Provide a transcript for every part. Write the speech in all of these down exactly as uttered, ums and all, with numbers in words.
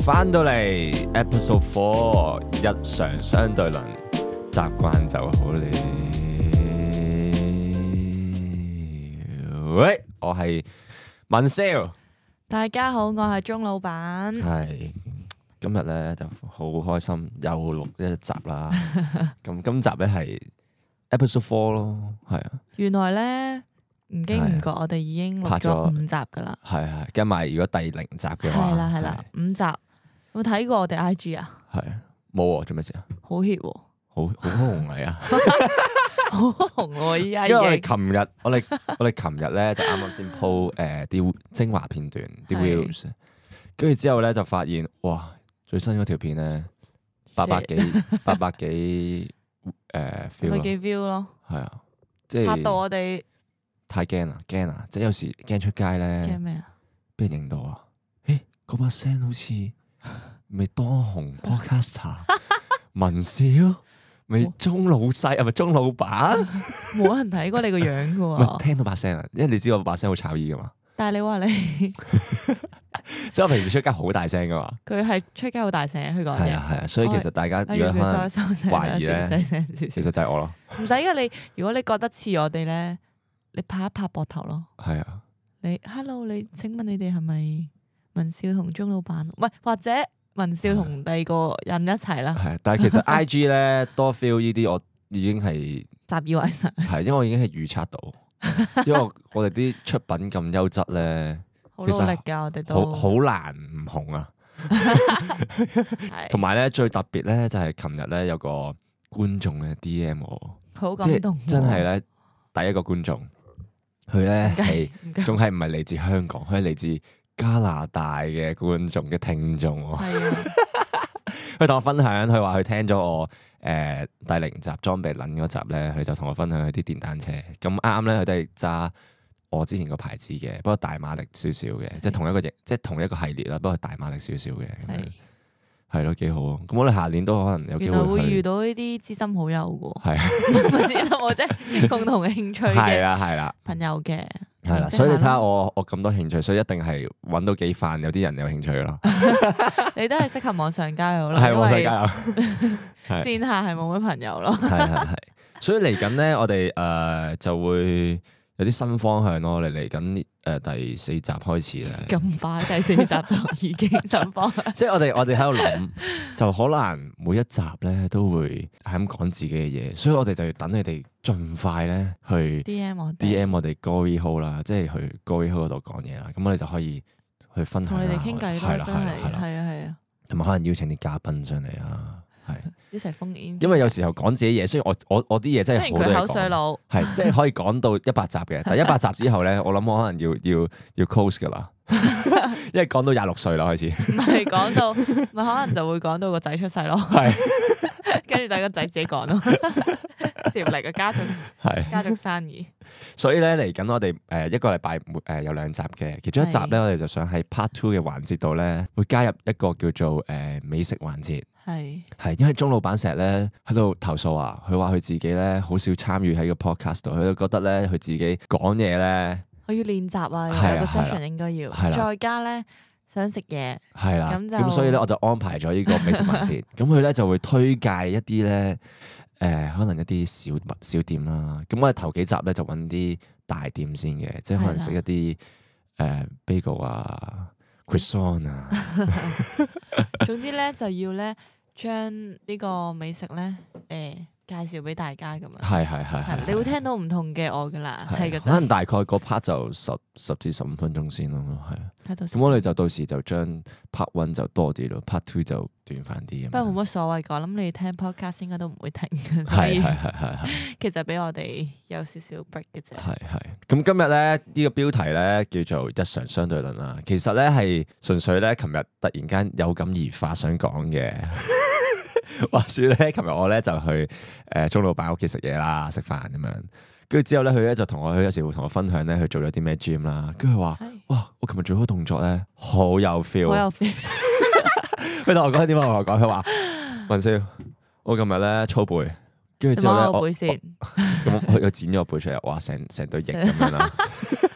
翻到嚟 Episode Four 日常相對論，習慣就好了。喂，我係文少， 大家好，我係鍾老闆。 係今日咧就好開心，又錄一集啦。咁今集咧係 Episode Four 咯，係啊。 原來咧唔經唔覺，我哋已經錄咗五集噶啦。係係，跟埋如果第零集嘅話， 係啦係啦，五集。有冇睇過我哋 I G 啊？ 係冇啊，做咩事啊？ 好 hit 喎， 好好紅嚟啊！ 好紅喎依家。 因為我哋琴日，我哋我哋琴日咧就啱啱先 po 誒啲精華片段啲 views，跟住之後咧就發現哇，最新嗰條片咧八百幾八百幾誒 view 咪幾 view 咯？ 係啊，即係嚇到我哋太驚啦，驚啊！即係有時驚出街咧， 驚咩啊？ 俾人認到啊！誒，嗰把聲好似〜咪當紅 podcaster 文少，咪鍾老細係咪鍾老闆？ 冇人睇過你個樣噶喎。 唔係聽到把聲啊，因為你知我把聲好炒耳噶嘛。 但係你話你， 即係我平時出街好大聲噶嘛。 佢係出街好大聲，佢講嘢。 係啊係啊，所以其實大家如果可能懷疑咧，其實就係我咯。 唔使噶，你如果你覺得似我哋咧，你拍一拍膊頭咯。係啊。你 Hello，你請問你哋係咪文少同鍾老闆？唔係或者？文少同第二個人一齊啦， 係，但係其實 I G 咧多 feel 呢啲，我已經係習以為常， 係，因為我已經係預測到，因為我哋啲出品咁優質咧， 好努力㗎，我哋都好好難唔紅啊。同埋咧最特別咧就係琴日咧有個觀眾咧 D M 我， 好感動， 真係咧第一個觀眾，佢咧係仲係唔係嚟自香港，佢係嚟自加拿大嘅觀眾嘅聽眾，佢同我分享，佢話佢聽咗我誒、呃、第零集裝備撚嗰集咧，佢就同我分享佢啲電單車，咁啱咧佢都係揸我之前個牌子嘅，不過大馬力少少嘅，即係同一個型，即係同一個系列啦，不過大馬力少少嘅，係咯，幾好啊！咁我哋下年都可能有機會會遇到呢啲知心好友嘅，係啊， 知心好即係共同嘅興趣嘅， 係啦係啦， 朋友嘅。 係啦，所以你睇下我我咁多興趣，所以一定係揾到幾飯有啲人有興趣咯。 你都係適合網上交友咯， 係網上交友， 線下係冇乜朋友咯。 係係係，所以嚟緊咧，我哋誒、呃、就會有啲新方向咯。我哋嚟緊誒第四集開始咧， 咁快第四集就已經新方向。即係我哋我哋喺度諗，就可能每一集咧都會係咁講自己嘅嘢，所以我哋就要等你哋盡快咧去 D M 我 D M 我哋 Glory Hole 啦，即係去 Glory Hole 嗰度講嘢啦。咁我哋就可以去分享，同你哋傾偈咯，真係係啊係啊，同埋可能邀請啲嘉賓上嚟啊。係一齊封煙， 因為有時候講自己嘢，雖然我我我啲嘢真係好多嘢講， 口水佬係即係可以講到一百集嘅，但係一百集之後咧，我諗我可能要要要 close 噶啦，因為講到廿六歲啦開始， 唔係講到，咪可能就會講到個仔出世咯，係，跟住等個仔自己講咯，接嚟個家族係家族生意， 所以咧嚟緊我哋誒一個禮拜誒有兩集嘅，其中一集咧我哋就想喺 part two 嘅環節度咧會加入一個叫做誒美食環節。係，係，因為鍾老闆成日咧喺度投訴啊，佢話佢自己咧好少參與喺個 podcast 度，佢就覺得咧佢自己講嘢咧， 我要練習啊，有個 session 應該要，再加咧想食嘢，係啦，咁就咁所以咧我就安排咗呢個美食環節，咁佢咧就會推介一啲咧誒可能一啲小物小店啦，咁我哋頭幾集咧就揾啲大店先嘅，即係可能食一啲誒 bagel 啊、croissant 啊， 總之咧就要咧。將呢個美食咧，誒、呃、介紹俾大家咁樣，係係係係，你會聽到唔同嘅我噶啦，係嘅，可能大概個 part 就十十至十五分鐘先咯，係。咁我哋就到時就將 part one 就多啲咯 ，part two 就短翻啲。不過冇乜所謂㗎，我諗你聽 podcast 應該都唔會停嘅，所以係係係係。其實俾我哋有少少 break 嘅啫。 係係。咁今日咧呢、呢個標題咧叫做日常相對論啦，其實咧係純粹咧，琴日突然間有感而發想講嘅。話說咧，琴日我咧就去誒鍾老闆屋企食嘢啦，食飯咁樣。跟住之後咧，佢咧就同我，佢有時會同我分享咧，佢做咗啲咩 gym 啦。跟住佢話：哇，我琴日做嗰個動作咧，好有 feel，好有 feel。佢同我講點解？我同我講，佢話文少，我琴日咧操背，跟住之後咧，我咁佢又剪咗個背出嚟，哇，成成對翼咁樣啦。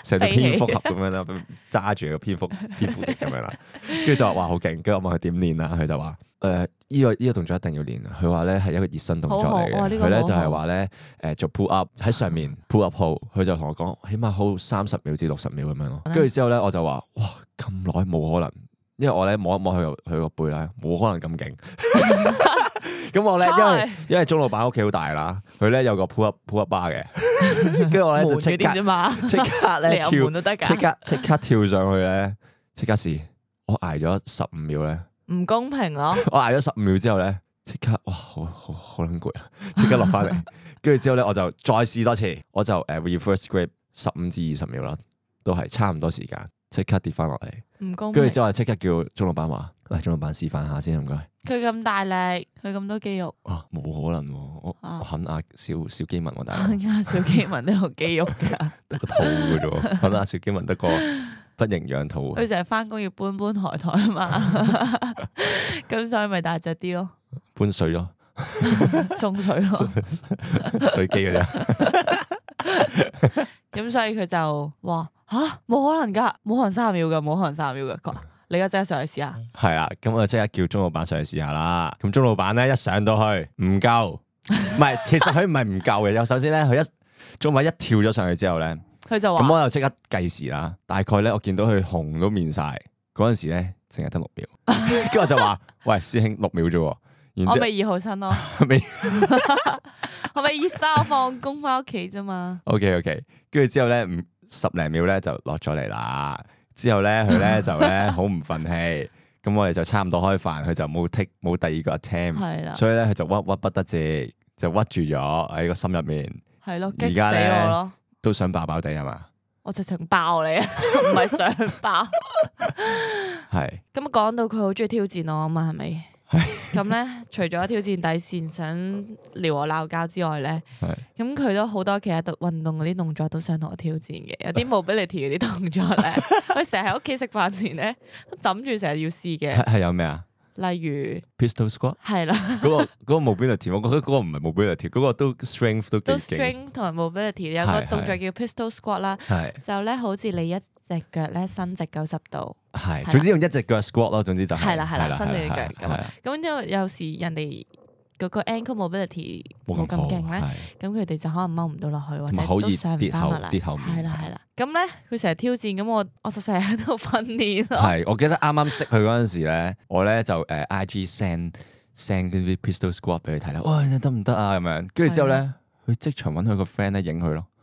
成隻蝙蝠俠咁樣啦，揸住個蝙蝠蝙蝠翼咁樣啦，跟住就話哇好勁，跟住我問佢點練啊，佢就話誒依個依個動作一定要練，佢話咧係一個熱身動作嚟嘅，佢咧就係話咧誒做 pull up 喺上面 pull up hold，佢就同我講起碼 hold 三十秒至六十秒咁樣咯，跟住之後咧我就話哇咁耐冇可能，因為我咧摸一摸佢佢個背咧冇可能咁勁。咁我咧，因為因為鐘老闆屋企好大啦，佢咧有個 pull up pull up bar 嘅，跟住我咧就即刻即刻咧跳，即刻即刻跳上去咧，即刻試，我挨咗十五秒咧， 唔公平咯！ 我挨咗十五秒之後咧，即刻哇，好好好撚攰啊！即刻落翻嚟，跟住之後咧，我就再試多次，我就誒 reverse grip 十五至二十秒啦，都係差唔多時間，即刻跌翻落嚟，唔公平。跟住之後即刻叫鐘老闆話，喂，鐘老闆示範下先，唔該。 佢咁大力，佢咁多肌肉， 啊，冇可能喎！我我肯壓小小基民，我大佬， 壓小基民都有肌肉噶， 得個肚嘅啫喎，肯壓小基民得個不營養肚。 佢成日翻工要搬搬抬抬啊嘛，咁所以咪大隻啲咯， 搬水咯， 送水咯， 水機嗰啲。 咁所以佢就話吓冇可能噶，冇可能三十秒噶，冇可能三十秒噶。你而家即刻上去試下，係啊，咁我即刻叫鐘老闆上去試下啦。咁鐘老闆咧一上到去唔夠，唔係，其實佢唔係唔夠嘅。有首先咧，佢一鐘老闆一跳咗上去之後咧，佢就話，咁我就即刻計時啦。大概咧，我見到佢紅都面晒，嗰陣時咧淨係得六秒，跟住我就話：喂，師兄六秒啫。然我咪二號身咯， 未， 我咪二三放工翻屋企啫嘛。 OK OK，跟住之後咧，唔十零秒咧就落咗嚟啦。之後咧，佢咧就咧好唔忿氣，咁我哋就差唔多開飯，佢就冇剔冇第二個 attempt，所以咧佢就屈屈不得志，就屈住咗喺個心入面。係咯，激死我咯！都想爆爆地係嘛？ 我直情爆你啊，唔係想爆。係是。 咁講到佢好中意挑戰我啊嘛，係咪？咁咧，除咗挑戰底線，想撩我鬧交之外咧，咁佢是都好多其他運動嗰啲動作都想同我挑戰嘅。有啲 mobility 嗰啲動作咧，佢成日喺屋企食飯前咧都枕住成日要試嘅。 係有咩啊？ 例如 pistol squat 係啦， 嗰個嗰個 mobility，我覺得嗰個唔係 mobility，嗰個都 strength 都幾勁。 都 strength 同埋 mobility 有個動作叫 pistol squat 啦，就咧好似你一隻腳咧伸直九十度。 係，總之用一隻腳 squat 咯，總之就係。 係啦係啦，伸直隻腳咁。咁因為有時人哋嗰個 ankle mobility 冇咁勁咧，咁佢哋就可能踎唔到落去，或者都上唔翻落嚟。跌後面。係啦係啦。咁咧佢成日挑戰，咁我我就成日喺度訓練咯。係， 我記得啱啱識佢嗰陣時咧，我咧就誒 I G send send 嗰啲 pistol squat 俾佢睇啦。喂，得唔得啊？咁樣，跟住之後咧，佢即場揾佢個 friend 咧影佢咯。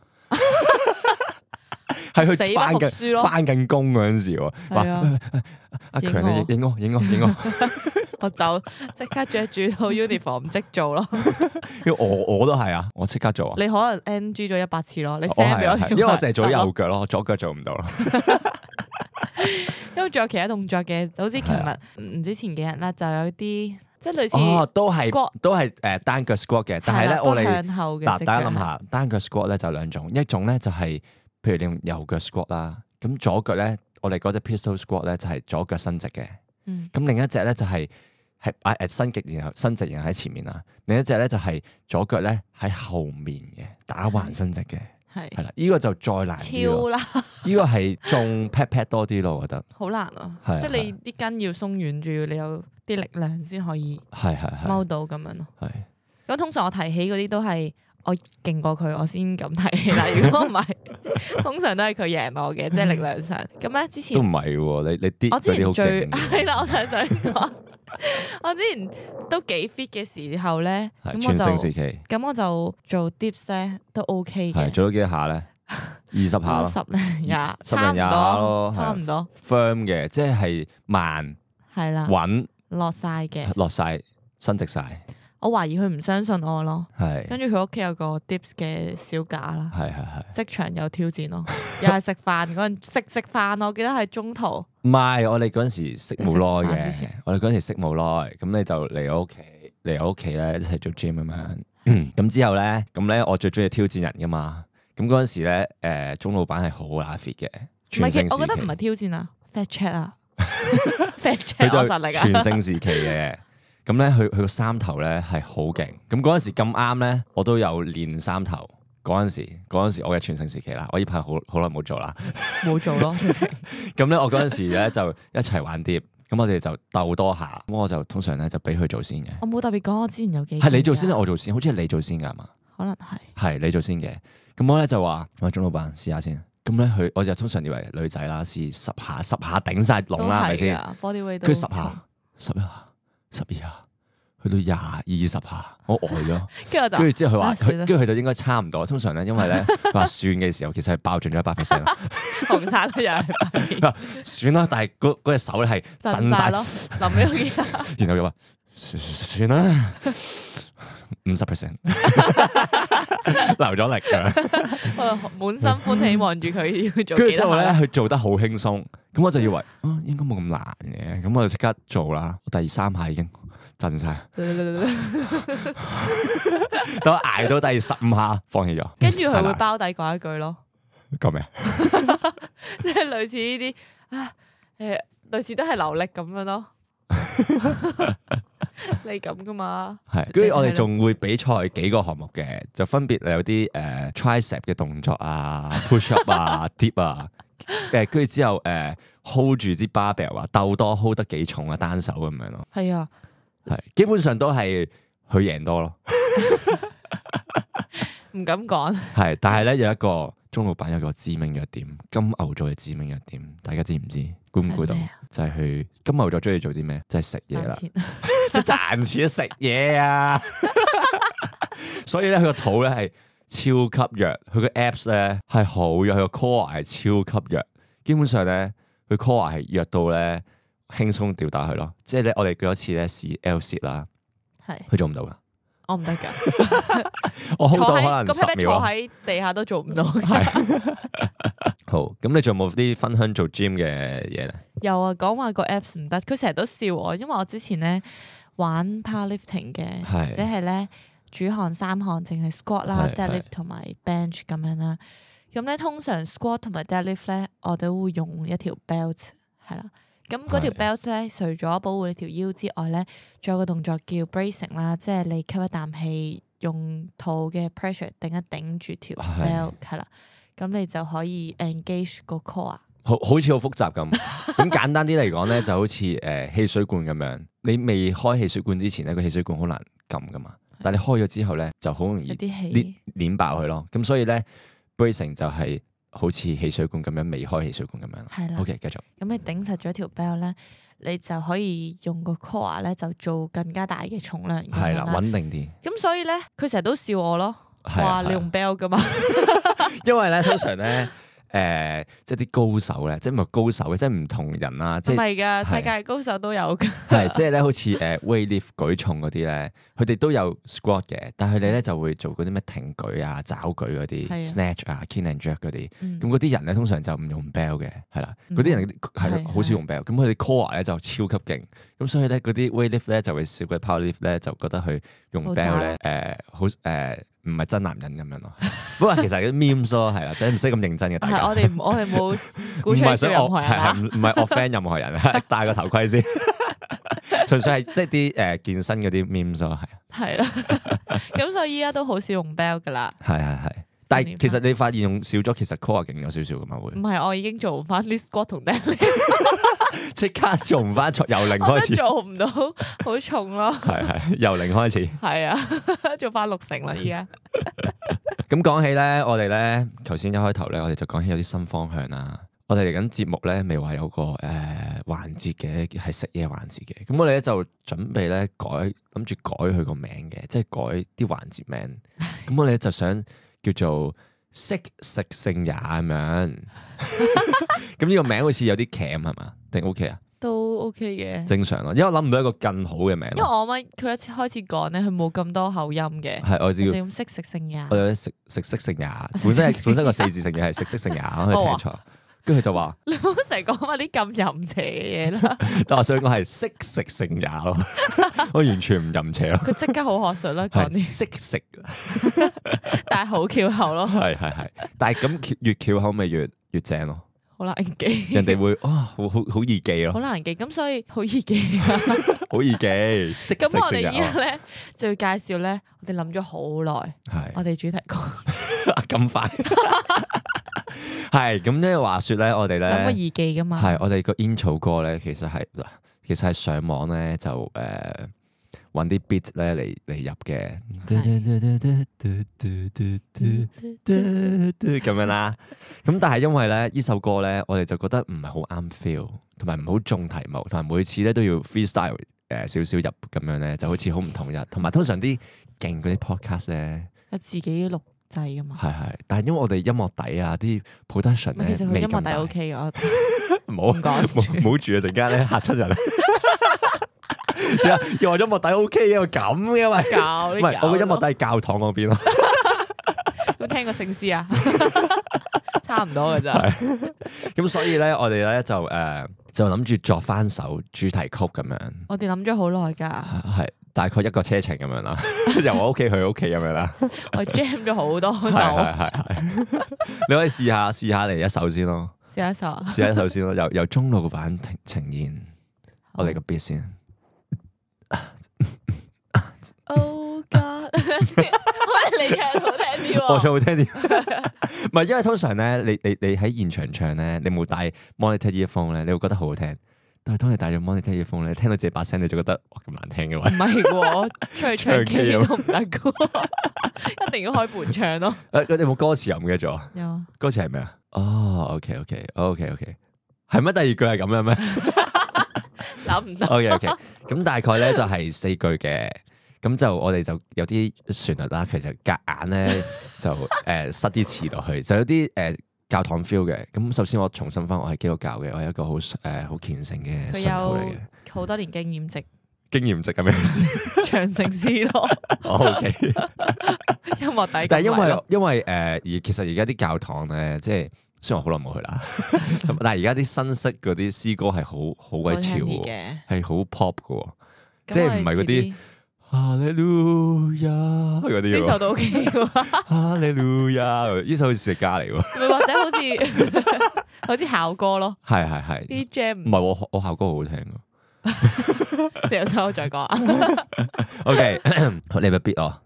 係佢翻緊翻緊工嗰陣時喎，話阿強你影我影我影我， 我就即刻着住套 uniform 即做咯。 因為我我都係啊，我即刻做啊。 你可能 N G 咗一百次咯，你 send 俾我， 因為我淨係做右腳咯，左腳做唔到咯。 因為仲有其他動作嘅，好似琴日唔知前幾日啦，就有啲即係類似哦，都係都係誒單腳 squat 嘅，但係咧我哋嗱大家諗下，單腳 squat 咧就兩種，一種咧就係。譬如你用右腳 squat 啦，咁左腳咧，我哋嗰隻 pistol squat 咧就係左腳伸直嘅。咁、嗯、另一隻咧就係係擺誒伸直然後伸直然後喺前面啦。另一隻咧就係左腳咧喺後面嘅打橫伸直嘅。係係啦，呢、這個就再難啲咯。超難！呢個係仲 pat pat 多啲咯，我覺得。好難啊！是即係你啲筋要鬆軟住，你有啲力量先可以係係係踎到咁樣咯。係咁，通常我提起嗰啲都係。我勁過佢，我先咁睇啦。如果唔係，通常都係佢贏我嘅，即係力量上。咁咧之前都唔係喎，你你啲我之前最係啦，我就係想講，我之前都幾 fit 嘅時候咧，咁我就咁我就做 dips 咧都 OK 嘅。做咗幾多下咧？二十下咯，十零廿，十零廿下咯，差唔多。firm 嘅，即係慢，係啦，穩落晒嘅，落晒，伸直晒。我懷疑佢唔相信我咯，係跟住佢屋企有個 dips 嘅小架啦，係係係，即場有挑戰咯，又係食飯嗰陣食食飯，我記得係中途，唔係我哋嗰陣時識冇耐嘅，我哋嗰陣時識冇耐，咁你就嚟我屋企嚟我屋企咧一齊做 gym 咁樣，咁之後咧，咁咧我最中意挑戰人噶嘛，咁嗰陣時咧，誒鐘老闆係好乸 fit 嘅，唔係，我覺得唔係挑戰啊 fat check 啊 fat check 我實力啊，全盛時期嘅。咁咧，佢佢個三頭咧係好勁。咁嗰陣時咁啱咧，我都有練三頭。 嗰陣時嗰陣時我嘅全盛時期啦，我呢排好好耐冇做啦， 冇做咯。 咁咧我嗰陣時咧就一齊玩碟，咁我哋就鬥多下，咁我就通常咧就俾佢做先嘅。 我冇特別講，我之前有幾係你做先定我做先？好似係你做先㗎嘛？ 可能係係你做先嘅。咁我咧就話喂，鐘老闆試下先。咁咧佢我就通常以為女仔啦，試十下十下頂晒籠啦，係咪先？佢十下、十一下、十二下，去到廿二十下，我呆咗。跟住跟住之後佢話，跟住佢就應該差唔多。通常咧，因為咧佢話算嘅時候，其實係爆盡咗一百 percent。 紅晒啦又係。 算啦，但係嗰嗰隻手咧係震晒咯， 臨尾嗰幾下。 然後佢話算啦。五十 percent 留咗力㗎， 我滿心歡喜望住佢要做。 跟住之後咧，佢做得好輕鬆，咁我就以為啊，應該冇咁難嘅，咁我就即刻做啦。第三下已經震晒，等我捱到第十五下，放棄咗。 跟住佢會包底講一句咯， 講咩？ 即係類似呢啲啊，誒，類似都係流力咁樣咯。你咁噶嘛？係，跟住我哋仲會比賽幾個項目嘅，就分別有啲誒、呃、tricep 嘅動作啊 ，push up 啊，dip 啊，誒，跟住之後誒、呃、hold 住支 barbell 啊，鬥多 hold 得幾重啊，單手咁樣咯。係啊，係，基本上都係佢贏多咯。唔敢講。係，但係咧有一個鐘老闆有個致命弱點，金牛座嘅致命弱點，大家知唔知？估唔估到？就係佢金牛座中意做啲咩？就係食嘢啦，即係賺錢食嘢啊！所以咧，佢個肚咧係超級弱，佢個 abs 咧係好弱，佢個 core 係超級弱。基本上咧，佢 core 係弱到咧輕鬆吊打佢咯。即係咧，我哋嗰一次咧試 L sit 啦，係佢做唔到噶。我唔得噶，我 hold 到可能十秒。咁你坐喺地下都做唔到。好，咁你仲有冇啲分享做 gym 嘅嘢咧？有啊，講話個 apps 唔得，佢成日都笑我，因為我之前咧玩 powerlifting 嘅，即係咧主項三項淨係 squat 啦、deadlift 同埋 bench 咁樣啦。咁咧通常 squat 同埋 deadlift 咧，我都會用一條 belt 係啦。咁嗰條 belt 咧，除咗保護你條腰之外咧，仲有個動作叫 bracing 啦，即係你吸一啖氣，用肚嘅 pressure 頂一頂住條 belt 係啦，咁你就可以 engage 個 core。好好似好複雜咁，咁簡單啲嚟講咧，就好似誒汽水罐咁樣，你未開汽水罐之前咧，個汽水罐好難撳噶嘛，但係你開咗之後咧，就好容易捏捏爆佢咯。咁所以咧 bracing 就係好似汽水罐咁樣，未開汽水罐咁樣。係啦。OK，繼續。咁你頂實咗條 belt 咧，你就可以用個 core 咧，就做更加大嘅重量。係啦，穩定啲。咁所以咧，佢成日都笑我咯，話你用 belt 噶嘛。因為咧，通常咧。誒、呃，即係啲高手咧，即係唔係高手嘅，即係唔同人啦。即係唔係㗎，世界高手都有㗎。係，即係咧，好似誒 weightlift 舉重嗰啲咧，佢哋都有 squat 嘅，但係佢哋咧就會做嗰啲咩挺舉啊、抓舉嗰啲、的 snatch 啊、clean and jerk 嗰啲。咁嗰啲人咧通常就唔用 bell 嘅，係啦。嗰啲人係好少用 bell，咁佢哋 core 咧就超級勁。咁所以咧嗰啲 weightlift 咧就會笑嗰啲 powerlift 咧就覺得佢用 bell 咧誒好誒。唔係真男人咁樣咯，不過其實啲 memes 咯，係啦，即係唔使咁認真嘅。大家我哋我哋冇鼓吹任何人啦，唔係 offend 任何人，戴個頭盔先，純粹係即係啲誒健身嗰啲 memes 咯，係。係啦，咁所以依家都好少用 bell 噶啦。係係係，但係其實你發現用少咗，其實 core 勁咗少少噶嘛會。唔係，我已經做唔翻啲 squat 同 deadlift，即刻做唔翻，由零開始。做唔到，好重咯。係係，由零開始。係啊，做翻六成啦，依家。咁講起咧，我哋咧頭先一開頭咧，我哋就講起有啲新方向啦。我哋嚟緊節目咧，未話有個誒環節嘅，係食嘢環節嘅。咁我哋咧就準備咧改，諗住改佢個名嘅，即係改啲環節名。咁我哋就想叫做識食性也咁樣。咁呢個名好似有啲鉗係嘛？定 OK 啊？都 OK 嘅，正常咯。因為我諗唔到一個更好嘅名。因為我媽佢一次開始講咧，佢冇咁多口音嘅。係我知。識食食性也。我有食食色性也，本身係本身個四字成語係食色性也，我可以聽錯。跟住佢就話：你唔好成日講埋啲咁淫邪嘅嘢啦。但我想講係識食性也咯，我完全唔淫邪咯。佢即刻好學術啦，講啲識食，但係好翹口咯。係係係，但係咁越翹口咪越越正咯。好難記，人哋會哇，好好好易記咯。好難記，咁所以好易記啊，好易記。識食性也。咁我哋依家咧就要介紹咧，我哋諗咗好耐，係我哋主題曲。 咁快係咁咧？話說咧，我哋咧有個耳機噶嘛？ 係我哋個 intro 歌咧，其實係嗱，其實係上網咧就誒揾啲 beat 咧嚟嚟入嘅，咁樣啦。咁但係因為咧呢首歌咧，我哋就覺得唔係好啱 feel，同埋唔好中題目，同埋每次咧都要 freestyle 誒少少入咁樣咧，就好似好唔統一。同埋通常啲勁嗰啲 podcast 咧， 有自己錄製噶嘛？ 係係，但係因為我哋音樂底啊，啲 production 咧， 其實佢音樂底 OK 嘅，我唔好講，唔好住啊！陣間咧嚇親人。又話音樂底 OK 嘅，咁嘅嘛？ 教唔係我個音樂底係教堂嗰邊咯。 有冇聽過聖詩啊？差唔多嘅咋。 咁所以咧，我哋咧就誒就諗住作翻首主題曲咁樣。 我哋諗咗好耐㗎。 係大概一個車程咁樣啦，由我屋企去屋企咁樣啦。 我 jam 咗好多首。 係係係。你可以試下試下嚟一首先咯。 試一首啊！ 試一首先咯，由由中老闆呈現我哋個 beat 先。 Oh God！ 你唱好聽啲喎， 我唱好聽啲，唔係因為通常咧，你你你喺現場唱咧，你冇帶 monitor earphone 咧，你會覺得好好聽。但係當你帶咗 monitor earphone 咧，聽到自己把聲，你就覺得哇咁難聽嘅話，唔係喎，出去唱 K 都唔得嘅，一定要開伴唱咯。 誒，你有冇歌詞又唔記得咗？ 有歌詞係咩啊？哦，OK OK OK OK，係咩？第二句係咁樣咩？ 諗唔到。 OK OK，咁大概咧就係四句嘅。咁就我哋就有啲旋律啦，其實夾硬咧就誒、呃、塞啲詞落去，就有啲誒、呃、教堂 feel 嘅。咁首先我重申翻，我係基督教嘅，我係一個好誒好虔誠嘅信徒嚟嘅， 好多年經驗值。 經驗值係咩意思？ 長城詩咯。 O K。 音樂底。 但係因為因為誒而其實而家啲教堂咧，即係雖然我好耐冇去啦，但係而家啲新式嗰啲詩歌係好好鬼潮嘅，係好 pop 嘅，即係唔係嗰啲。哈利路亞嗰啲呢首都 OK 嘅。 哈利路亞呢首好似食家嚟喎， 或者好似好似校歌咯。係係係。啲 jam 唔係我我校歌好好聽㗎。 你有首再講啊 ？OK， 你咪 beat 我。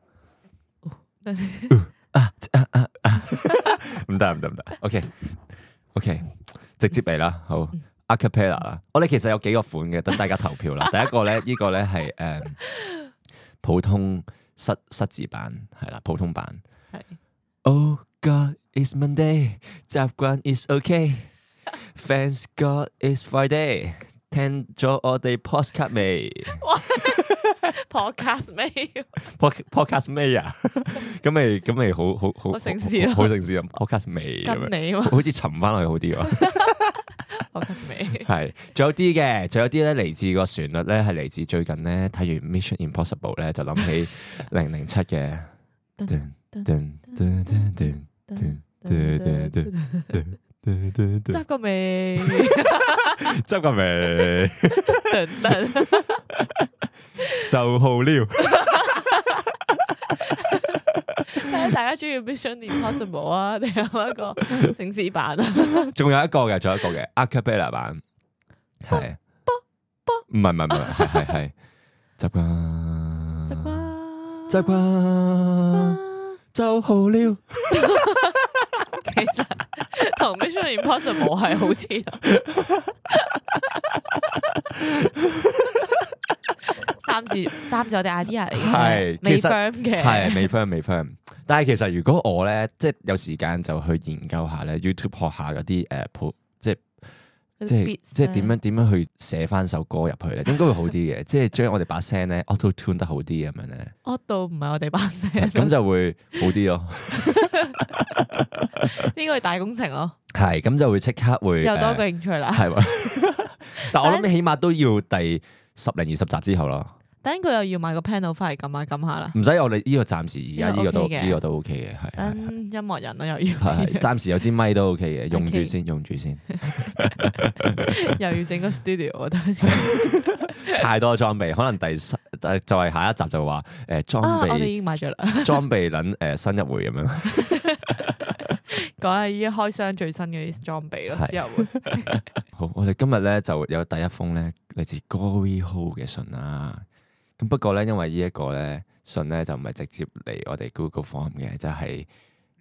唔得唔得唔得。OK OK， 直接嚟啦，好 acapella 啦。我哋其實有幾個款嘅，等大家投票啦。第一個咧，呢個咧係誒。普通失失字版係啦，普通版係。Oh God, it's Monday， 習慣 is OK。Thanks God, it's Friday。聽咗我哋 podcast 未 ？podcast 未 ？podcast 未啊？咁咪咁咪好好好好城市咯， 好城市啊 ！podcast 未咁樣， 好似沉翻落去好啲喎。 podcast 未係，仲有啲嘅，仲有啲咧嚟自個旋律咧，係嚟自最近咧睇完 Mission Impossible 咧，就諗起零零七嘅。 執個未？ 執個未？就好撩。 睇下大家中意 Mission Impossible 啊，定係一個城市版啊？ 仲有一個嘅，仲有一個嘅 acapella 版，係。唔係唔係唔係，係係係。習慣。習慣。習慣。就好撩。 其實同 Mission Impossible 係好似，暫時暫時我哋 idea 嚟嘅，係未 firm 嘅， 係未 firm 未 firm。但係其實如果我咧，即係有時間就去研究下咧 YouTube 學下嗰啲誒譜，即係即係即係點樣點樣去寫翻首歌入去咧，應該會好啲嘅。即係將我哋把聲咧 auto tune 得好啲咁樣咧。 auto 唔係我哋把聲， 咁就會好啲咯。 呢個係大工程咯。 係，咁就會即刻會又多個興趣啦。 係，但我諗起碼都要第十零二十集之後咯。 等佢又要買個 panel 翻嚟撳下撳下啦。 唔使，我哋呢個暫時而家呢個都呢個都 OK 嘅，係。 等音樂人咯，又要。 係，暫時有支咪都 OK 嘅，用住先，用住先。 又要整個 studio 啊！ 太多裝備，可能第十就係下一集就話誒裝備。 我哋已經買咗啦。裝備撚誒新一回咁樣。 講下依家開箱最新嘅啲裝備咯，之後會。 好，我哋今日咧就有第一封咧嚟自 Gory Hole 嘅信啦。咁不過咧，因為呢一個咧信咧就唔係直接嚟我哋 Google Form 嘅，就係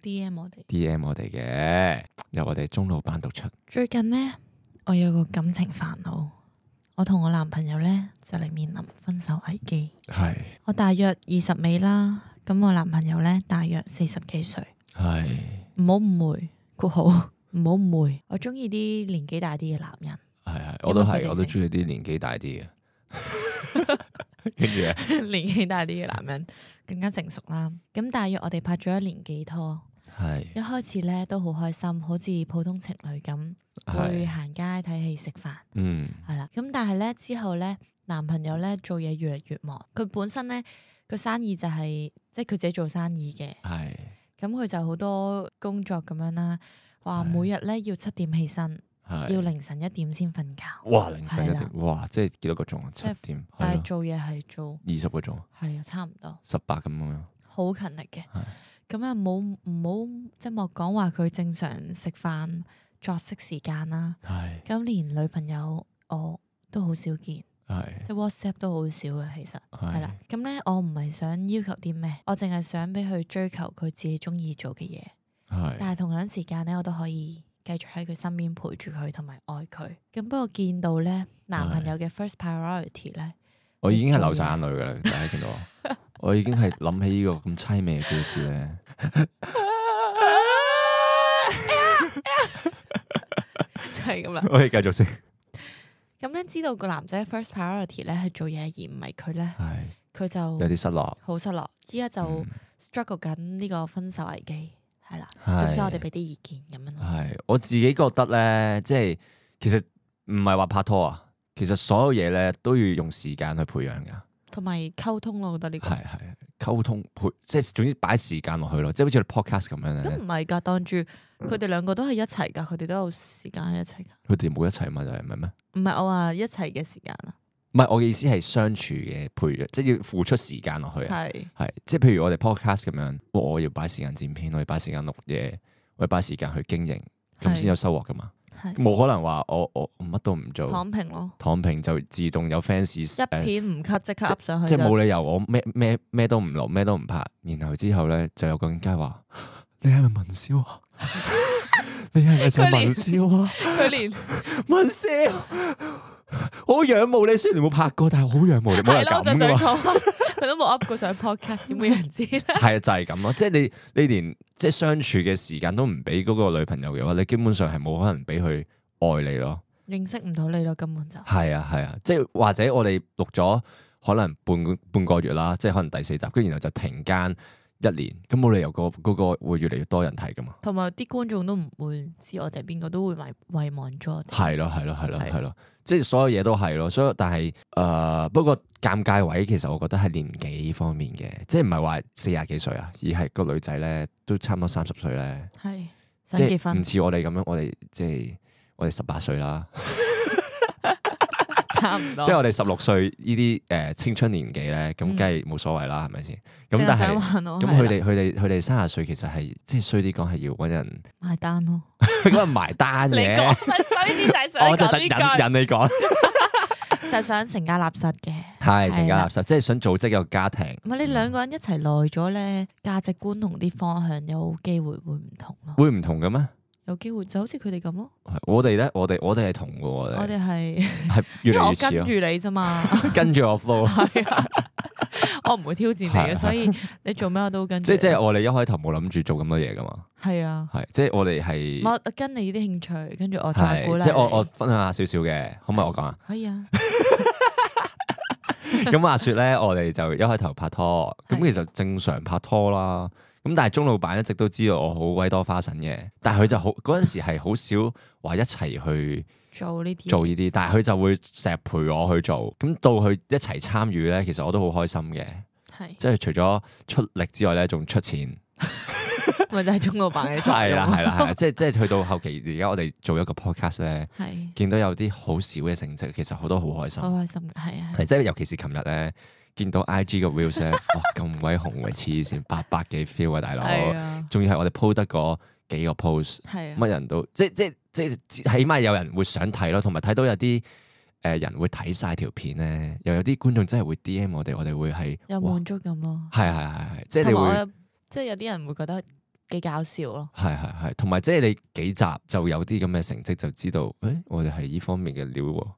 D M 我哋 ，D M 我哋嘅，由我哋鐘老闆讀出。 最近呢，我有個感情煩惱，我同我男朋友呢，就嚟面臨分手危機。 係是我大約二十尾啦，咁我男朋友呢，大約四十幾歲。係唔好誤會，括號唔好誤會，我中意啲年紀大啲嘅男人。係係， 我都係，我都中意啲年紀大啲嘅。跟住年紀大啲嘅男人更加成熟啦。咁大約我哋拍咗一年幾拖，係是一開始咧都好開心，好似普通情侶咁，會行街睇戲食飯，嗯，係啦。咁但係咧之後咧，男朋友咧做嘢越嚟越忙，佢本身咧個生意就係、是、即係佢自己做生意嘅，係咁佢就好多工作咁樣啦，話每日咧要七點起身。要凌晨一點先瞓覺。哇！凌晨一點，哇！即係幾多個鐘啊？七點。但係做嘢係做二十個鐘。係啊，差唔多。十八咁樣。好勤力嘅。咁啊，冇唔好即係莫講話佢正常食飯作息時間啦。係。咁連女朋友我都好少見。係。即係 WhatsApp 都好少嘅，其實係啦。咁咧，我唔係想要求啲咩，我淨係想俾佢追求佢自己中意做嘅嘢。係。但係同樣時間咧，我都可以繼續喺佢身邊陪住佢同埋愛佢，咁不過見到咧男朋友嘅 first priority 咧，我已經係流晒眼淚噶啦，大家見到我，我已經係諗起呢個咁淒美嘅故事咧，就係咁啦。我可以繼續先。咁咧知道個男仔 first priority 咧係做嘢而唔係佢咧，佢就有啲失落，好失落。依家就 struggle 緊呢個分手危機。係啦，咁所以我哋俾啲意見咁樣咯。係，我自己覺得咧，即係其實唔係話拍拖啊，其實所有嘢咧都要用時間去培養噶，同埋溝通咯。我覺得呢個係係溝通培，即係總之擺時間落去咯，即係好似你 podcast 咁樣咧。都唔係噶，當住佢哋兩個都係一齊噶，佢哋都有時間喺一齊噶。佢哋冇一齊嘛？就係唔係咩？唔係我話一齊嘅時間啊。唔係我嘅意思係相處嘅培養，即係要付出時間落去啊。係係，即係譬如我哋 podcast 咁樣，我要擺時間剪片，我要擺時間錄嘢，我要擺時間去經營，咁先有收穫噶嘛。冇可能話我我乜都唔做，躺平咯，躺平就自動有 fans 一片唔 cut 即刻 up 上去，即係冇理由我咩咩咩都唔錄，咩都唔拍，然後之後咧就有個人家話你係咪文燒啊？你係咪就文燒啊？佢連文燒。我好仰慕你，雖然你冇拍過，但係好仰慕你。冇人咁噶嘛？佢都冇 up 過上 podcast，點會有人知咧？係啊，就係咁咯。即係你，你連即係相處嘅時間都唔俾嗰個女朋友嘅話，你基本上係冇可能俾佢愛你咯。認識唔到你咯，根本就係啊係啊。即係或者我哋錄咗可能半個半個月啦，即係可能第四集，跟住然後就停更一年，咁冇理由個嗰個會越嚟越多人睇噶嘛。同埋啲觀眾都唔會知我哋邊個，都會遺遺忘咗我哋。係咯係咯係咯係咯。即係所有嘢都係咯，所以但係誒、呃，不過尷尬位其實我覺得係年紀方面嘅，即係唔係話四廿幾歲啊，而係個女仔咧都差唔多三十歲咧，係想結婚，唔似我哋咁樣，我哋即係我哋十八歲啦，差唔多，即係我哋十六歲呢啲誒青春年紀咧，咁梗係冇所謂啦，係咪先？咁但係咁佢哋佢哋佢哋三十歲其實係即係衰啲講係要搵人埋單咯，咁啊埋單嘅。我就等引引你講，就想成家立室嘅，係成家立室，即係想組織一個家庭。唔係你兩個人一齊耐咗咧，價值觀同啲方向有機會會唔同咯。會唔同嘅咩？有機會就好似佢哋咁咯。我哋咧，我哋我哋係同嘅，我哋係係越嚟越似咯。因為我跟住你啫嘛，跟住我 flow。係啊，我唔會挑戰你嘅，所以你做咩我都跟住。即係即係我哋一開頭冇諗住做咁多嘢噶嘛。係啊，係即係我哋係。我跟你啲興趣，跟住我再鼓勵你。即係我我分享下少少嘅，可唔可以我講啊？可以啊。咁話說咧，我哋就一開頭拍拖，咁其實正常拍拖啦。咁但係鐘老闆一直都知道我好鬼多花神嘅，但係佢就好嗰陣時係好少話一齊去做呢啲做呢啲，但係佢就會成日陪我去做。咁到佢一齊參與咧，其實我都好開心嘅，係即係除咗出力之外咧，仲出錢，咪就係鐘老闆嘅作用。係啦係啦係啦，即係即係去到後期，而家我哋做一個 podcast 咧，係見到有啲好少嘅成績，其實我都好開心，好開心嘅係啊，係即係尤其是琴日咧。見到 I G 個 views 咧，哇咁鬼紅嘅黐線，八百幾 feel 啊大佬，仲要係我哋 po 得嗰幾個 post，乜人都即即即起碼有人會想睇咯，同埋睇到有啲誒人會睇晒條片咧，又有啲觀眾真係會 D M 我哋，我哋會係有滿足感咯，係係係係，即係你會即係有啲人會覺得幾搞笑咯。 係係係，同埋即係你幾集就有啲咁嘅成績，就知道誒、欸，我哋係呢方面嘅料喎。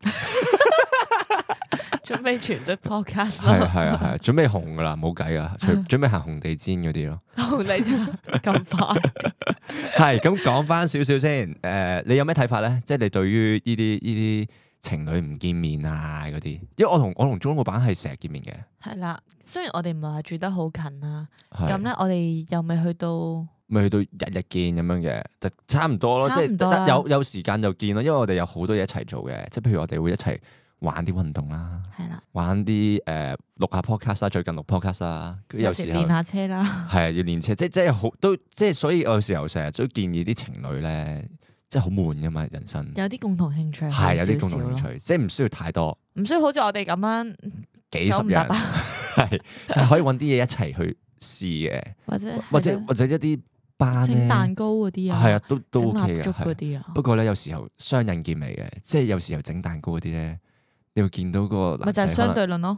準備全職 podcast 係係啊係啊，準備紅噶啦，冇計啊，準準備行紅地氈嗰啲咯。 紅地氈咁快？係咁講翻少少先。誒、呃，你有咩睇法咧？即係你對於呢啲呢啲情侶唔見面啊嗰啲，因為我同我同鍾老闆係成日見面嘅。係啦，雖然我哋唔係話住得好近啦，咁咧我哋又未去到， 未去到日日見咁樣嘅，就差唔多咯。即係有有時間就見咯，因為我哋有好多嘢一齊做嘅，即係譬如我哋會一齊玩啲運動啦，係啦，玩啲誒錄下 podcast 啦，最近錄 podcast 啦，有時候練下車啦， 係啊，要練車，即係即係好都即係，所以我有時候成日都建議啲情侶咧，即係好悶噶嘛，人生有啲共同興趣係有啲共同興趣，即係唔需要太多， 唔需要好似我哋咁樣幾十人係，但係可以搵啲嘢一齊去試嘅，或者或者或者一啲班整蛋糕嗰啲啊， 係啊，都都 OK 嘅。 不過咧，有時候雙刃劍嚟嘅，即係有時候整蛋糕嗰啲咧。你會見到個男仔，咪就係相對論咯。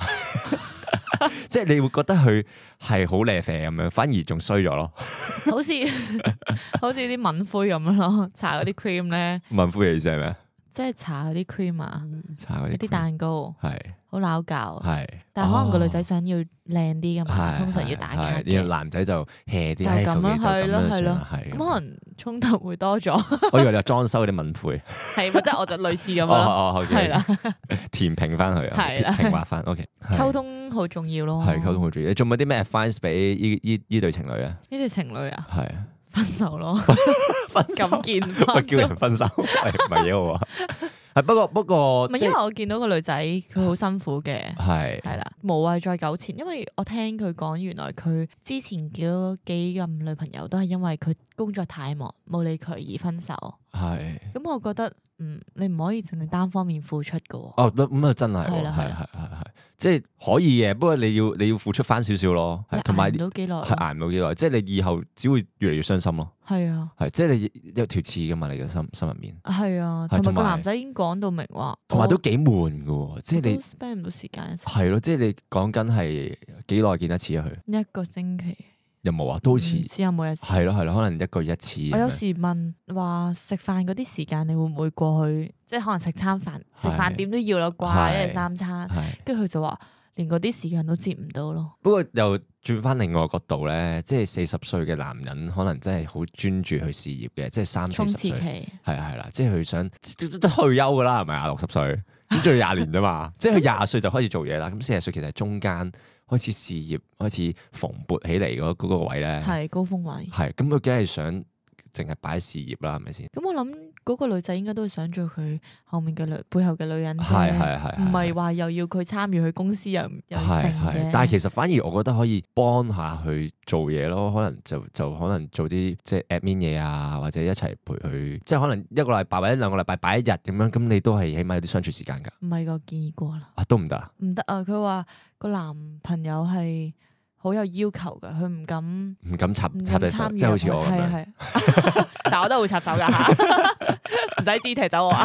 即係你會覺得佢係好靚啡咁樣，反而仲衰咗咯。 好似好似啲敏灰咁樣咯，搽嗰啲 cream 咧。 敏灰嘅意思係咩？即係搽嗰啲 cream 啊， 搽嗰啲蛋糕， 係好撈教。 係， 但係可能個女仔想要靚啲噶嘛，通常要打卡嘅。 男仔就 hea 啲， 就咁樣去咯，係咯，咁可能衝突會多咗。 我以為你話裝修嗰啲敏灰， 係咪即係我就類似咁樣咯，係啦， 填平翻佢，係啦，平滑翻。OK， 溝通好重要咯， 係溝通好重要。你仲有冇啲咩 advice 俾依依依對情侶啊？ 呢對情侶啊， 係分手咯， 分咁見，喂，叫人分手，唔係幾好啊。係不過不過， 唔係因為我見到個女仔佢好辛苦嘅，係係啦，無謂再糾纏。因為我聽佢講，原來佢之前嗰幾任女朋友都係因為佢工作太忙，冇理佢而分手。係咁，我覺得嗯，你唔可以淨係單方面付出噶。哦， 咁啊真係，係係係係係，即係可以嘅。不過你要你要付出翻少少咯，同埋捱唔到幾耐，係捱唔到幾耐。即係你以後只會越嚟越傷心咯。係啊，係即係你有條刺噶嘛，你嘅心心入面。係啊，同埋個男仔已經講到明話，同埋都幾悶噶，即係你 spend 唔到時間一齊。係咯，即係你講緊係幾耐見一次啊？佢一個星期。有冇啊？都好似只有每一次。係咯係咯，可能一個月一次。我有時問話食飯嗰啲時間，你會唔會過去？即係可能食餐飯，食飯點都要啦啩，一日三餐。跟住佢就話，連嗰啲時間都接唔到咯。不過又轉翻另外個角度咧，即係四十歲嘅男人，可能真係好專注去事業嘅，即係三四十歲。係啊係啦，即係佢想都退休噶啦，係咪啊？六十歲咁仲要廿年啫嘛，即係佢廿歲就開始做嘢啦。咁四十歲其實係中間。開始事業開始蓬勃起嚟嗰嗰個位咧，係高峰位。係咁，佢梗係想淨係擺事業啦，係咪先？咁我諗嗰個女仔應該都係想做佢後面嘅女背後嘅女人啫，係係係，唔係話又要佢參與佢公司又又成嘅。但係其實反而我覺得可以幫下佢做嘢咯，可能就就可能做啲即係 admin 嘢啊，或者一齊陪佢，即係可能一個禮拜或者兩個禮拜擺一日咁樣，咁你都係起碼有啲相處時間㗎。唔係個建議過啦，啊都唔得啊，唔得啊！佢話個男朋友係好有要求噶，佢唔敢唔敢插插隻手，即係好似我咁樣。係係，但係我都會插手噶吓，唔使肢踢走我啊。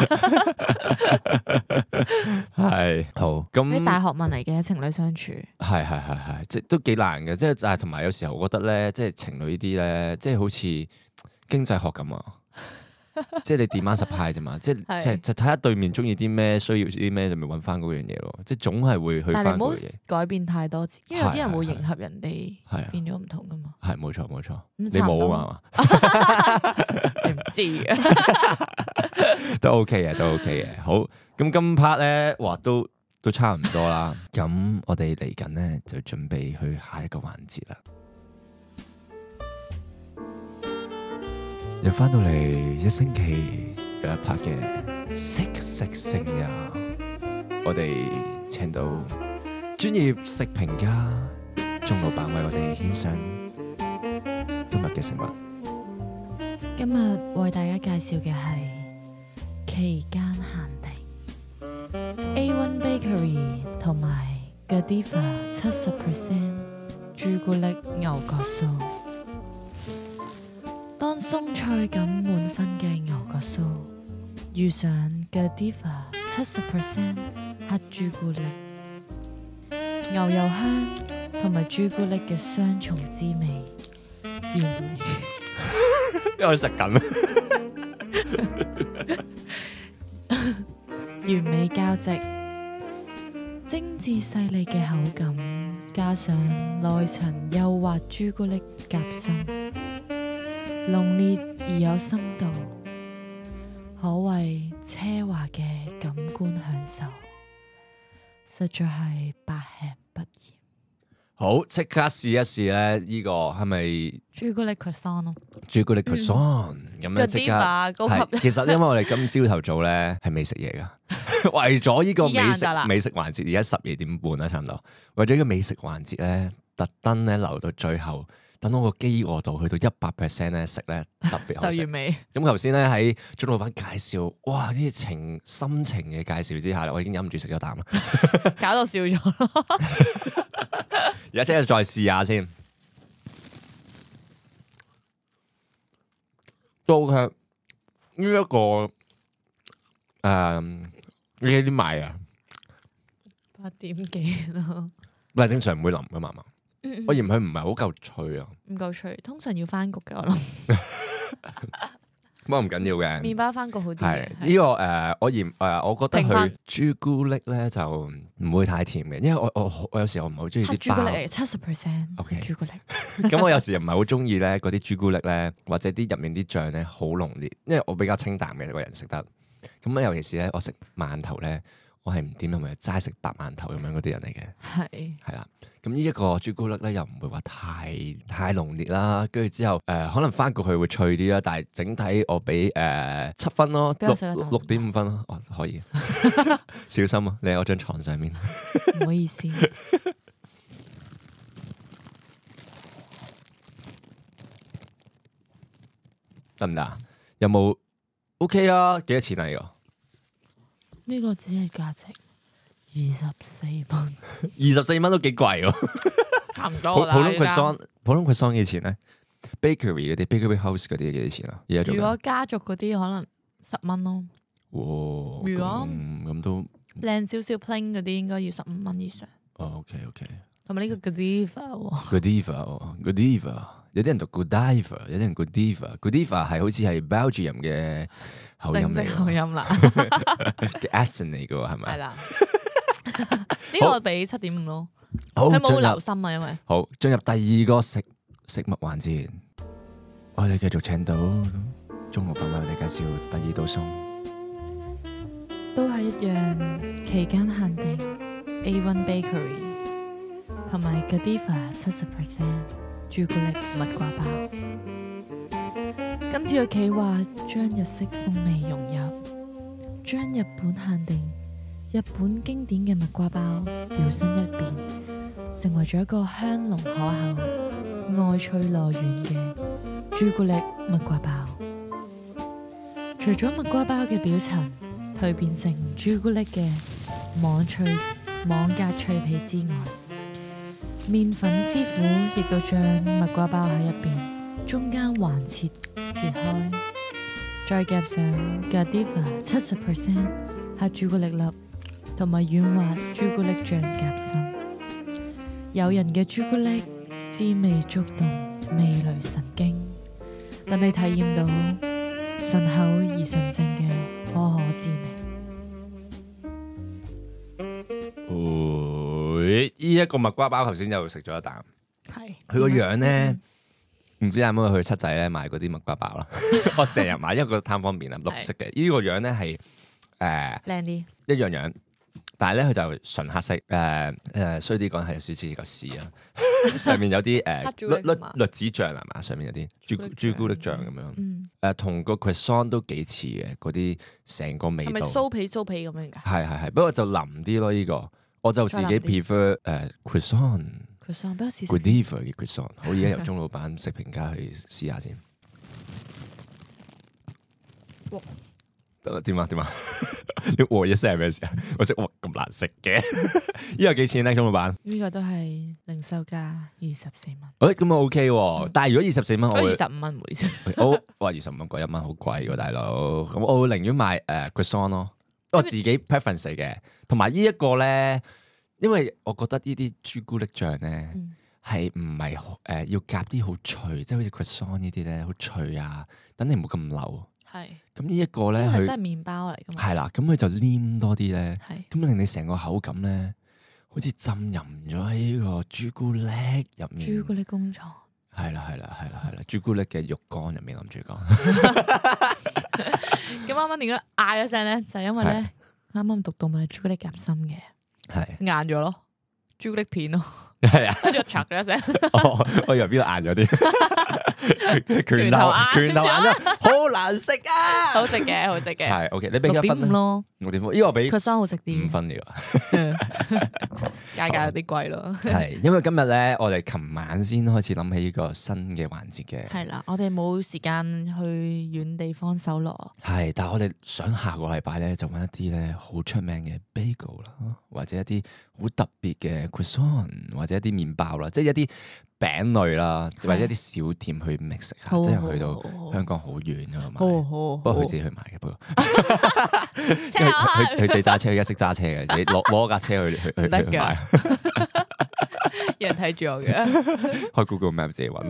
係好咁。啲大學問嚟嘅情侶相處，係係係係，即係都幾難嘅。即係但係同埋有時候我覺得咧，即係情侶呢啲咧，即係好似經濟學咁啊。即係你 demand supply 啫嘛，即係即係就睇下對面中意啲咩，需要啲咩就咪揾翻嗰樣嘢咯。即係總係會去翻嗰樣嘢。但係唔好改變太多次，因為有啲人會迎合人哋，變咗唔同噶嘛。係冇錯冇錯，你冇啊嘛？你唔知嘅，都 OK 嘅，都 OK 嘅。好，咁今 part 咧，哇，都都差唔多啦。咁我哋嚟緊咧就準備去下一個環節啦。又翻到嚟一星期有一 part 嘅食食聲呀，我哋請到專業食評家鍾老闆為我哋獻上今日嘅食物。今日為大家介紹嘅係期間限定 A one Bakery 同埋 Godiva 七十 percent 朱古力牛角酥。當鬆脆感滿分嘅牛角酥遇上 Godiva 七十 percent 黑朱古力，牛油香同埋朱古力嘅雙重滋味， 完美， 因為食緊。 完美交織，精緻細膩嘅口感，加上內層幼滑朱古力夾心，濃烈而有深度，可謂奢華嘅感官享受，實在係百吃不厭。 好，即刻試一試咧！呢、這個係咪朱古力 croissant 咯？ 朱古力 croissant 咁樣即刻係。其實因為我哋今朝頭早咧係未食嘢噶，為咗呢個美食美食環節，而家十二點半啦，差唔多。為咗呢個美食環節咧，特登咧留到最後，等我個飢餓度去到一百 percent 咧食咧特別好食。就完美。咁頭先咧喺鐘老闆介紹，哇！呢啲情深情嘅介紹之下，我已經忍唔住食咗啖啦， 搞到笑咗咯。 而家即係再試下先，都係呢一個誒，呢幾點買啊？ 八點幾咯。 唔係正常唔會腍噶嘛嘛，嗯嗯我嫌佢唔係好夠脆啊。唔夠脆，通常要翻焗嘅我諗。 不過唔緊要嘅， 麵包翻焗好啲。 係呢、這個誒、呃，我嫌誒、呃，我覺得佢朱古力咧就唔會太甜嘅，因為我我我有時我唔係好中意啲朱古力七十 percent。OK， 朱古力。 咁我有時又唔係好中意咧嗰啲朱古力咧，或者啲入面啲醬咧好濃烈，因為我比較清淡嘅個人食得。咁尤其是咧，我食饅頭咧，我係唔點同埋齋食白饅頭咁樣嗰啲人嚟嘅。係係啦。咁呢一個朱古力咧又唔會話太太濃烈啦，跟住之後誒、呃、可能翻過去會脆啲啦，但係整體我俾誒七分咯，六六點五分咯，哦可以，小心啊，你喺我張床上面， 唔好意思， 得唔得啊？有冇 OK 啊？幾多錢啊？呢個呢個只係價值二十四蚊， 二十四蚊都幾貴喎， 差唔多啦。 普通 croissant，普通 croissant 幾錢咧 ？Bakery 嗰啲 Bakery House 嗰啲幾多錢啊？而家做。 如果家族嗰啲可能十蚊咯。 哇！ 如果咁都靚少少 plain 嗰啲應該要十五蚊以上。 哦 ，OK OK。 同埋呢個 Godiva，Godiva，Godiva，有啲人讀 Godiva，有啲人 Godiva，Godiva 係好似係 Belgium 嘅口音嚟。 口音啦。 嘅 accent 嚟嘅喎，係咪？係啦。 呢個俾七點五咯， 好， 佢冇留心啊，因為好進入第二個食食物環節，我哋繼續請到鐘老闆為我哋介紹第二道餸， 都係一樣期間限定 A one Bakery 同埋 Godiva 七十 percent 朱古力蜜瓜包。今次嘅企劃將日式風味融入，將日本限定日本經典嘅蜜瓜包搖身一變，成為咗一個香濃可口、外脆內軟嘅朱古力蜜瓜包。除咗蜜瓜包嘅表層蛻變成朱古力嘅網脆網格脆皮之外，麵粉師傅亦都將蜜瓜包喺入邊中間橫切切開，再夾上 Godiva 七十 percent 黑朱古力粒同埋軟滑朱古力醬夾心，誘人嘅朱古力滋味觸動味蕾神經，等你體驗到順口而純正嘅可可滋味。 會呢一個蜜瓜包頭先又食咗一啖，係佢個樣咧，唔、嗯、知係咪去七仔咧買嗰啲蜜瓜包啦？我成日買，因為覺得貪方便啊，綠色嘅。呢、這個樣咧係誒靚啲一樣樣。但係咧，佢就純黑色，誒、呃、誒，衰啲講係有少少嚿屎啊！上面有啲誒栗栗栗子醬係嘛？上面有啲朱朱古力醬咁樣，誒、嗯呃、同個 croissant 都幾似嘅，嗰啲成個味道。係咪酥皮酥皮咁樣㗎？係係係，不過就腍啲咯。呢、這個我就自己 prefer 誒、呃、croissant。croissant 不如試試。Godiva 嘅 croissant，好，而家由鐘老闆食評家去試下先。得啦，點啊點啊！你和一聲係咩事啊？我識哇咁難食嘅，呢個幾錢咧？鐘老闆？呢個都係零售價二十四蚊。誒，咁啊 OK 喎，但係如果二十四蚊，我二十五蚊每次。我哇二十五蚊貴一蚊好貴喎，大佬。咁我會寧願買誒 croissant 咯，我自己 preference 嚟嘅。同埋呢一個咧，因為我覺得呢啲朱古力醬咧係唔係誒要夾啲好脆，即係好似 croissant 呢啲咧好脆啊，等你唔好咁流。係。咁呢一個咧，佢真係麵包嚟㗎嘛。係啦，咁佢就黏多啲咧，咁係。 令你成個口感咧，好似浸淫咗喺呢個朱古力入面。 朱古力工廠。 係啦係啦係啦係啦，朱古力嘅肉乾入面諗住講。 咁啱啱點解嗌咗聲咧？就係因為咧，啱啱讀到咪朱古力夾心嘅，係硬咗咯，朱古力片咯。係啊，跟住我嚓咗一聲。 哦，我以為邊度硬咗啲，拳頭拳頭硬咗，好難食啊！ 好食嘅，好食嘅。 係 OK，你俾幾分咯？六點五，呢個俾佢生好食啲， 五分嚟㗎。 價格有啲貴咯。 係，因為今日咧，我哋琴晚先開始諗起呢個新嘅環節嘅。 係啦，我哋冇時間去遠地方搜羅。 係，但係我哋想下個禮拜咧，就揾一啲咧好出名嘅 bagel 啦，或者一啲好特別嘅 croissant，或者一啲麵包啦，即係一啲餅類啦，或者一啲小店去 mix 食下，即係去到香港好遠㗎嘛。不過佢自己去買嘅，不過佢佢自己揸車，而家識揸車嘅，自己攞攞架車去去去去買。 有人睇住我嘅， 開 Google Map 自己揾。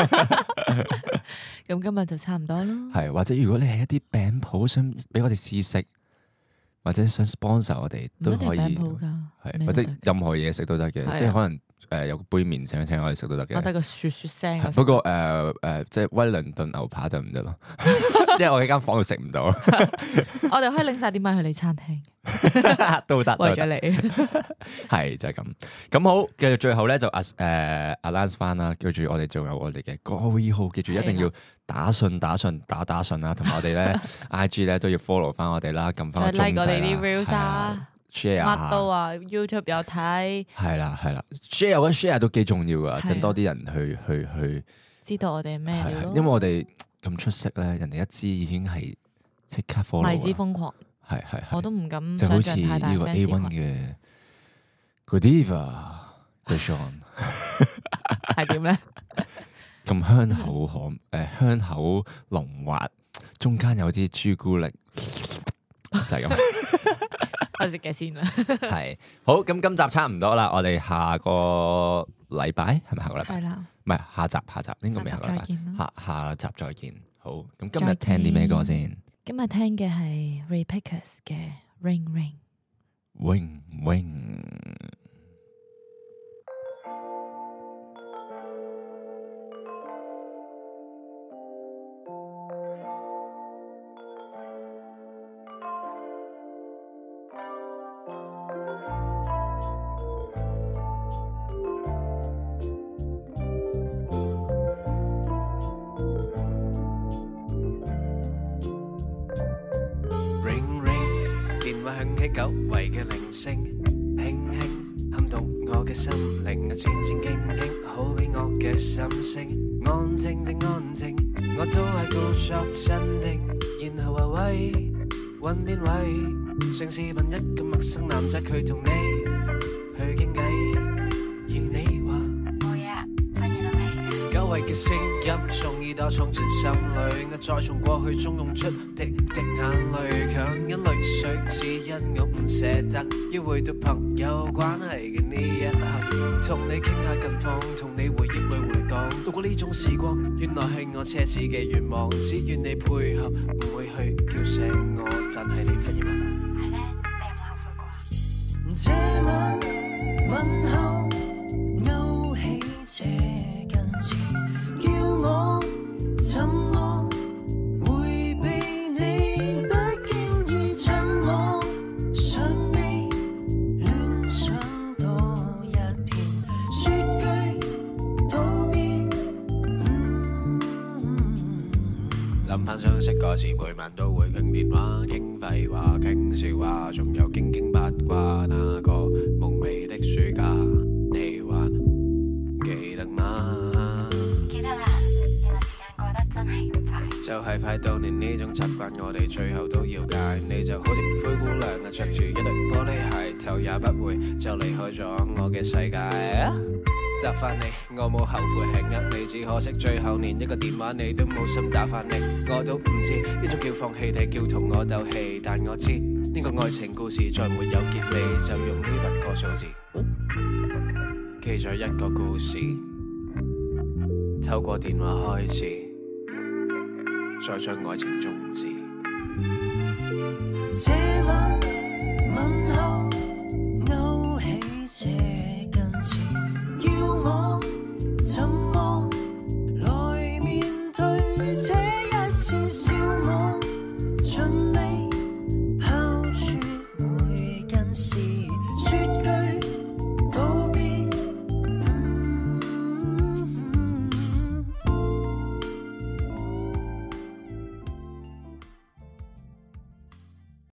咁今日就差唔多咯。 係，或者如果你係一啲餅鋪想俾我哋試食，或者想 sponsor 我哋都可以，係或者任何嘢食都得嘅，即係可能誒有個杯麵想請我哋食都得嘅。 我得個雪雪聲。 不過誒誒，即係威倫頓牛扒就唔得咯，因為我喺間房度食唔到。 我哋可以拎晒啲米去你餐廳。 都得， 為咗你。 係就係咁。咁好，繼續最後咧就誒 announce 翻啦，記住我哋仲有我哋嘅歌會號，記住一定要打信打信打打信啦，同埋我哋咧 I G 咧都要 follow 翻我哋啦，撳翻個鐘仔啦。like 我哋啲 reels 啊 ，share 乜都啊 ，YouTube 有睇。係啦係啦 ，share 嗰 share 都幾重要噶，整多啲人去去去知道我哋係咩料咯。 因為我哋咁出色咧，人哋一知已經係即刻 follow。為之瘋狂。係係，我都唔敢就好似呢個 A 一嘅 Godiva Croissant 係點咧？ 咁香口可誒香口濃滑，中間有啲朱古力，就係咁。 我食嘅先啦。 係好，咁今集差唔多啦，我哋下個禮拜係咪下個禮拜？係啦，唔係下集下集應該未下個禮拜，下下集再見。好，咁今日聽啲咩歌先？ 今日聽嘅係 Ray Pickers 嘅 Ring Ring Ring Ring。響起久違嘅鈴聲，輕輕撼動我嘅心靈，戰戰兢兢，好比我嘅心聲。安靜定安靜，我都係故作鎮定，然後話喂，揾邊位？上次問一個陌生男仔，佢同你去傾偈，而你話冇嘢，忽然諗起久違嘅聲音，從耳朵闖進心裏，我再從過去中湧出滴滴眼淚，強忍淚水，只因我唔捨得，要回到朋友關係嘅呢一刻，同你傾下近況，同你回憶裏回蕩，度過呢種時光，原來係我奢侈嘅願望，只願你配合，唔會去叫醒我，但係你忽然問我，係咧，你有冇後悔過？這晚問候勾起這根刺，叫我怎麼迴避你，不經意趁我尚未戀上多一片，說句道別。諗返相識嗰時，每晚都會傾電話，傾廢話，傾笑話，仲有傾傾八卦。那個夢寐的暑假，你還記得嗎？記得啦，原來時間過得真係咁快，就係快到連呢種習慣我哋最後都要戒。你就好似灰姑娘啊，着住一對玻璃鞋，頭也不回就離開咗我嘅世界。答返你，我冇後悔係呃你，只可惜最後連一個電話你都冇心打返嚟。我都唔知呢種叫放棄定叫同我鬥氣，但我知呢個愛情故事再沒有結尾，就用呢八個數字。 記咗一個故事，透過電話開始，再將愛情終止。 這晚問候勾起這根刺，叫我怎